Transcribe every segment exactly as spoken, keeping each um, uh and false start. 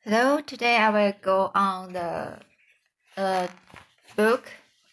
Hello, today I will go on the uh, book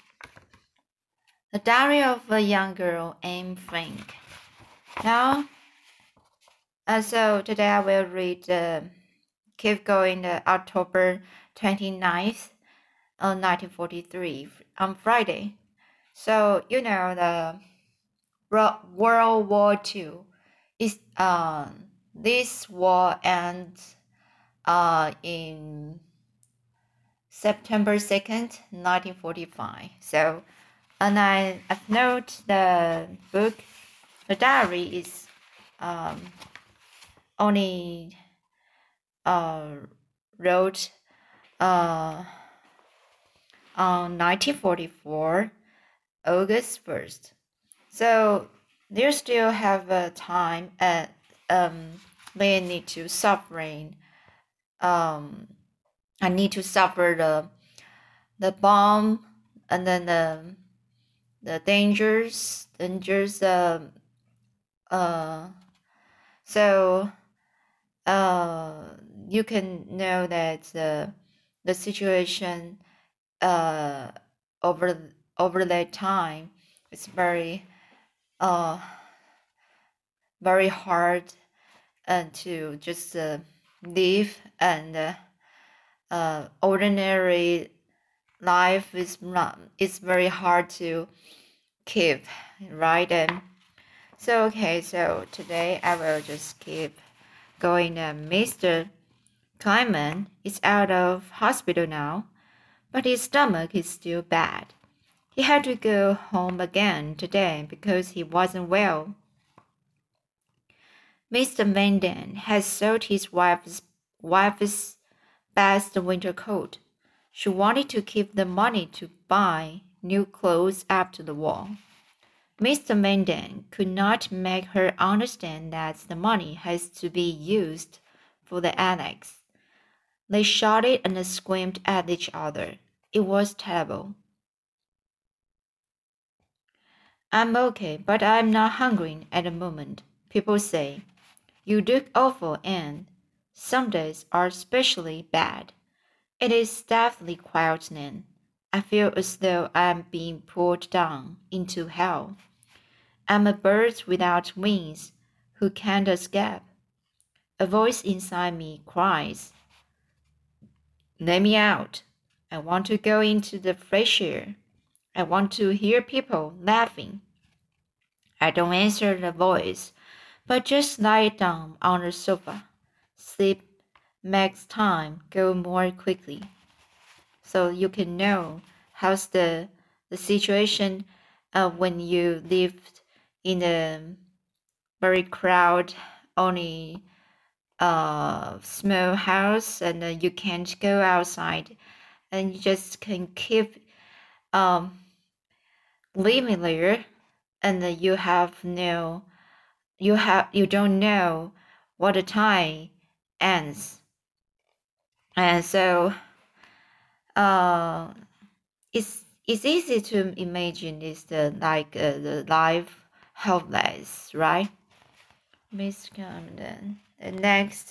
The Diary of a Young Girl, Anne Frank. Now, uh, so today I will read uh, Keep Going uh, October twenty-ninth, uh, nineteen forty-three on Friday. So, you know, the World War Two is uh, this war ends uh, in September second, nineteen forty-five. So, and I I've noted the book, the diary is um, only uh, wrote uh, on nineteen forty-four, August first. So they still have a time at um they need to suffering um I need to suffer the the bomb and then the the dangers dangers uh, uh so uh you can know that the the situation uh over over that time is very uh very hard and to just uh, live and uh, uh ordinary life is not it's very hard to keep, right? And so okay, so today I will just keep going. uh, Mister Kleiman is out of hospital now, but his stomach is still bad. He had to go home again today because he wasn't well. Mister Van has sold his wife's, wife's best winter coat. She wanted to keep the money to buy new clothes after the war. Mister Van could not make her understand that the money has to be used for the annex. They shouted and screamed at each other. It was terrible. I'm okay, but I'm not hungry at the moment, people say. You look awful, Anne. Some days are especially bad. It is definitely quiet, Nan. I feel as though I'm being pulled down into hell. I'm a bird without wings who can't escape. A voice inside me cries, let me out. I want to go into the fresh air. I want to hear people laughing. I don't answer the voice, but just lie down on the sofa. Sleep makes time go more quickly. So you can know how's the, the situation uh, when you lived in a very crowded, only uh, small house and uh, you can't go outside and you just can keep um, living there and uh, you have no you have you don't know what the time ends, and so uh it's it's easy to imagine it's the like uh, the life helpless, right? Miss Camden. The next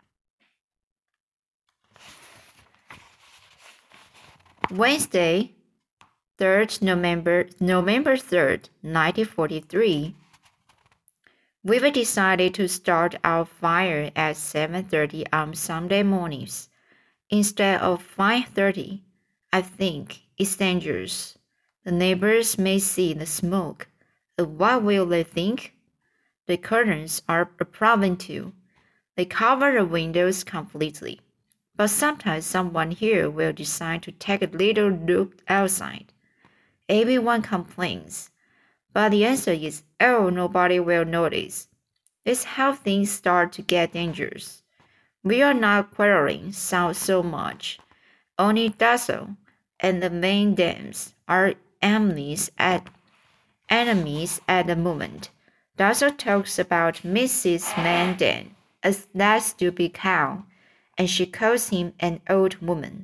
Wednesday, third November November third, nineteen forty three. We've decided to start our fire at seven thirty on Sunday mornings instead of five thirty. I think it's dangerous. The neighbors may see the smoke. And what will they think? The curtains are a problem too. They cover the windows completely. But sometimes someone here will decide to take a little look outside. Everyone complains. But the answer is, oh, nobody will notice. It's how things start to get dangerous. We are not quarreling so, so much. Only Dazzle and the main dams are enemies at enemies at the moment. Dazzle talks about Missus Mandan as that stupid cow, and she calls him an old woman.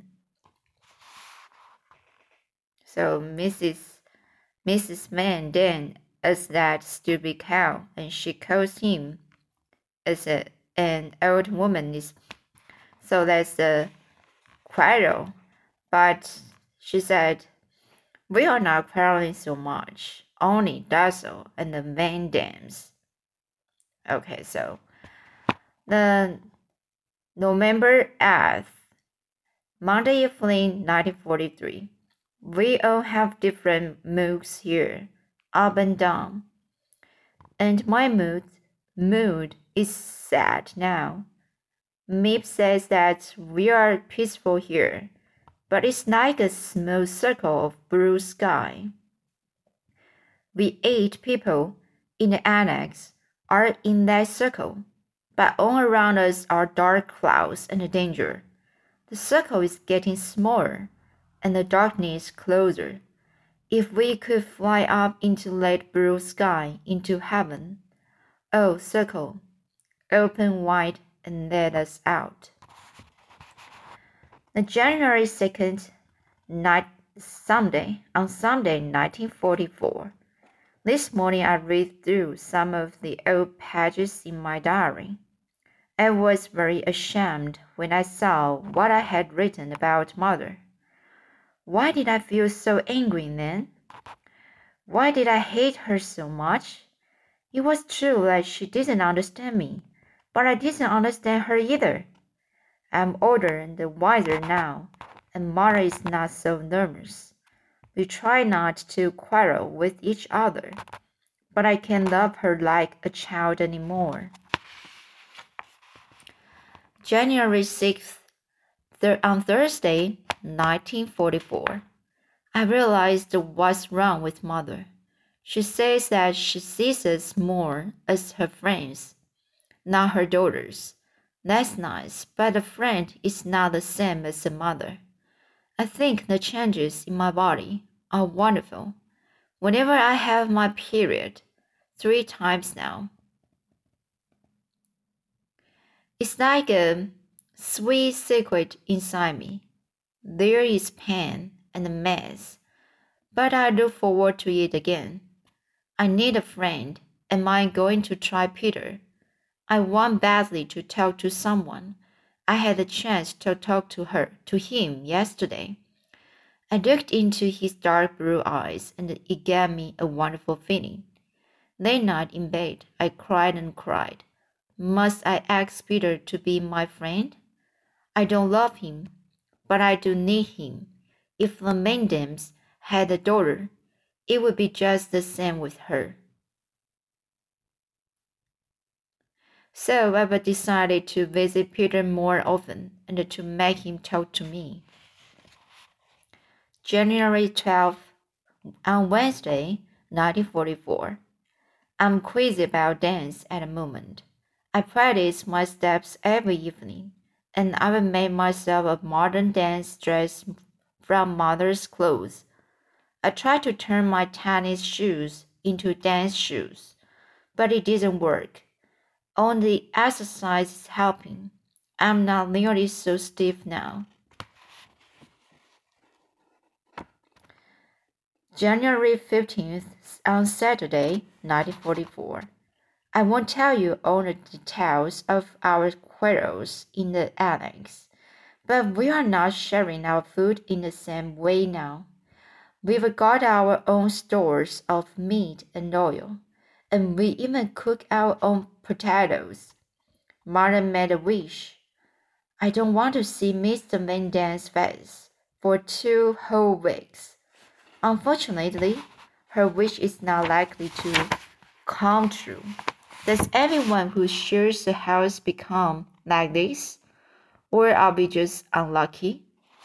So Missus Missus Mandan as that stupid cow, and she calls him as a, an old woman. Is So that's the quarrel. But she said, we are not quarreling so much, only Dazzle and the Van Dams. Okay, so the November eighth, Monday evening, nineteen forty-three. We all have different moods here, up and down. And my mood, mood is sad now. Mip says that we are peaceful here, but it's like a small circle of blue sky. We eight people in the annex are in that circle, but all around us are dark clouds and danger. The circle is getting smaller, and the darkness closer. If we could fly up into that blue sky, into heaven, oh, circle, open wide and let us out. The January second, night, Sunday, on Sunday, nineteen forty-four. This morning I read through some of the old pages in my diary. I was very ashamed when I saw what I had written about mother. Why did I feel so angry then? Why did I hate her so much? It was true that she didn't understand me, but I didn't understand her either. I'm older and wiser now, and mother is not so nervous. We try not to quarrel with each other, but I can't love her like a child anymore. January sixth, th- on Thursday, nineteen forty-four. I realized what's wrong with mother. She says that she sees us more as her friends, not her daughters. That's nice, but a friend is not the same as a mother. I think the changes in my body are wonderful. Whenever I have my period, three times now, it's like a sweet secret inside me. There is pain and a mess, but I look forward to it again. I need a friend. Am I going to try Peter? I want badly to talk to someone. I had a chance to talk to her, to him yesterday. I looked into his dark blue eyes and it gave me a wonderful feeling. That night in bed, I cried and cried. Must I ask Peter to be my friend? I don't love him, but I do need him. If the Mandams had a daughter, it would be just the same with her. So I decided to visit Peter more often and to make him talk to me. January twelfth, on Wednesday, nineteen forty-four. I'm crazy about dance at the moment. I practice my steps every evening, and I've made myself a modern dance dress from mother's clothes. I tried to turn my tennis shoes into dance shoes, but it didn't work. Only exercise is helping. I'm not nearly so stiff now. January fifteenth, on Saturday, nineteen forty-four. I won't tell you all the details of our quarrels in the annex, but we are not sharing our food in the same way now. We've got our own stores of meat and oil, and we even cook our own potatoes. Martin made a wish. I don't want to see Mister Van Dam's face for two whole weeks. Unfortunately, her wish is not likely to come true. Does everyone who shares a house become like this? Or are we just unlucky?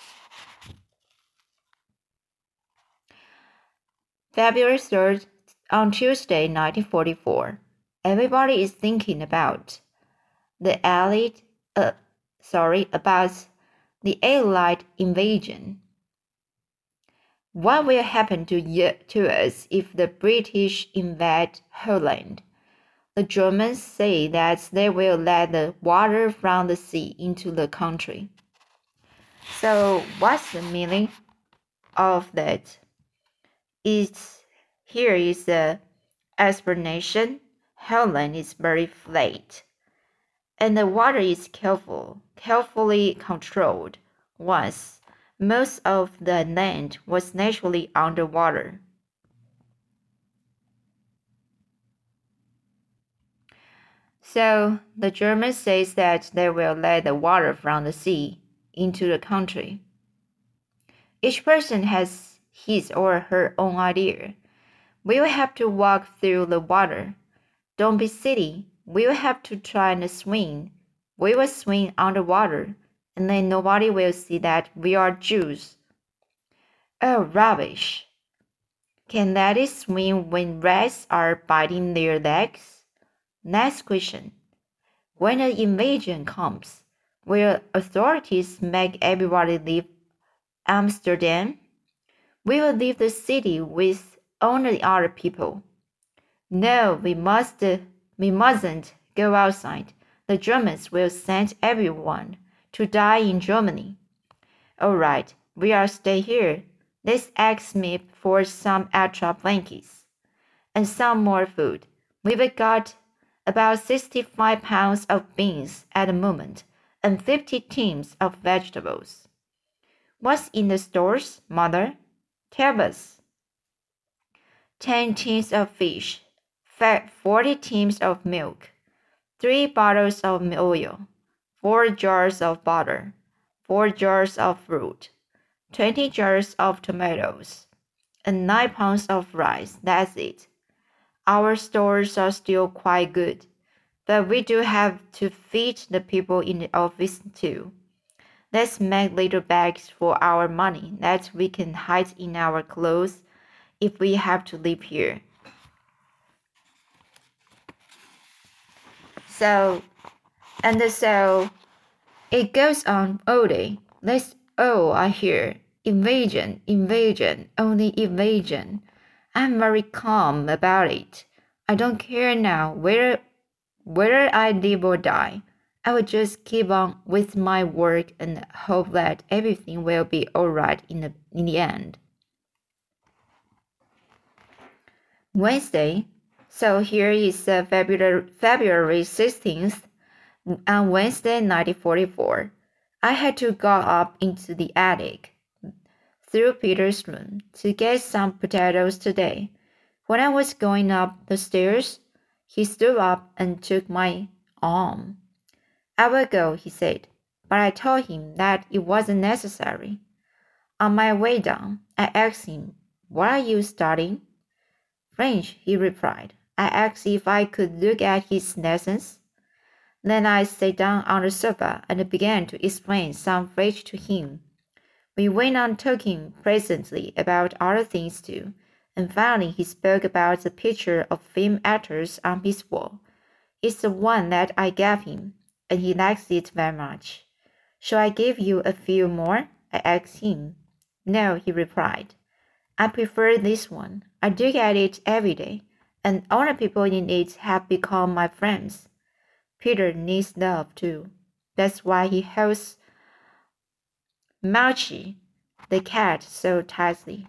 February third, on Tuesday, nineteen forty-four. Everybody is thinking about the Allied, uh, sorry, about the Allied invasion. What will happen to, to us if the British invade Holland? The Germans say that they will let the water from the sea into the country. So what's the meaning of that? It's, here is the explanation. Holland is very flat, and the water is careful, carefully controlled. Once, most of the land was naturally underwater. So the German says that they will let the water from the sea into the country. Each person has his or her own idea. We will have to walk through the water. Don't be silly. We will have to try and swim. We will swim underwater, and then nobody will see that we are Jews. Oh, rubbish. Can ladies swim when rats are biting their legs? Next question. When an invasion comes, will authorities make everybody leave Amsterdam? We will leave the city with only other people. No, we must, we mustn't go outside. The Germans will send everyone to die in Germany. All right, we'll stay here. Let's ask me for some extra blankets and some more food. We've got about sixty-five pounds of beans at the moment and fifty tins of vegetables. What's in the stores, Mother? Tell us. Ten tins of fish, forty tins of milk, three bottles of oil, four jars of butter, four jars of fruit, twenty jars of tomatoes, and nine pounds of rice. That's it. Our stores are still quite good, but we do have to feed the people in the office too. Let's make little bags for our money that we can hide in our clothes if we have to live here. So, and so, it goes on all day. Let's all I hear. Invasion, invasion, only invasion. I'm very calm about it. I don't care now whether, whether I live or die. I will just keep on with my work and hope that everything will be alright in the, in the end. Wednesday. So here is uh, February, February sixteenth. On Wednesday, nineteen forty-four, I had to go up into the attic through Peter's room to get some potatoes today. When I was going up the stairs, he stood up and took my arm. I will go, he said, but I told him that it wasn't necessary. On my way down, I asked him, "What are you studying?" "French," he replied. I asked if I could look at his lessons. Then I sat down on the sofa and began to explain some French to him. We went on talking pleasantly about other things too, and finally he spoke about the picture of film actors on his wall. It's the one that I gave him, and he likes it very much. "Shall I give you a few more?" I asked him. "No," he replied. "I prefer this one. I look at it every day, and all the people in it have become my friends. Peter needs love too. That's why he holds Marchie, the cat, so tightly."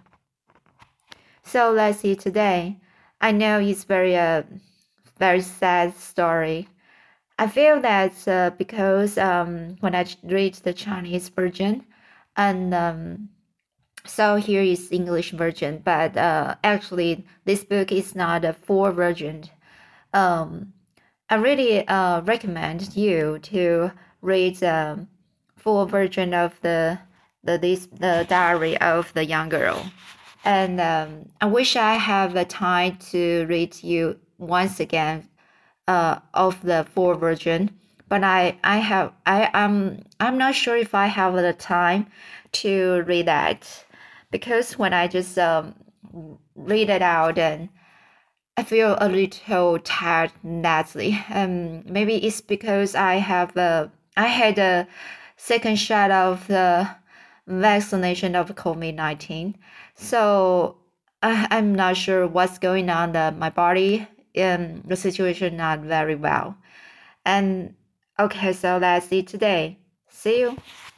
So let's see today. I know it's very uh, very sad story. I feel that uh, because um, when I read the Chinese version, and um, so here is English version, but uh, actually this book is not a full version. Um, I really uh, recommend you to read the full version of the the this the diary of the young girl, and um, I wish I have the time to read you once again uh, of the full version. But I I have I am I'm not sure if I have the time to read that, because when I just um, read it out and I feel a little tired lately. Um, maybe it's because I have a, I had a second shot of the vaccination of COVID nineteen, so I, I'm not sure what's going on. The, my body, um, the situation not very well. And okay, so that's it today. See you.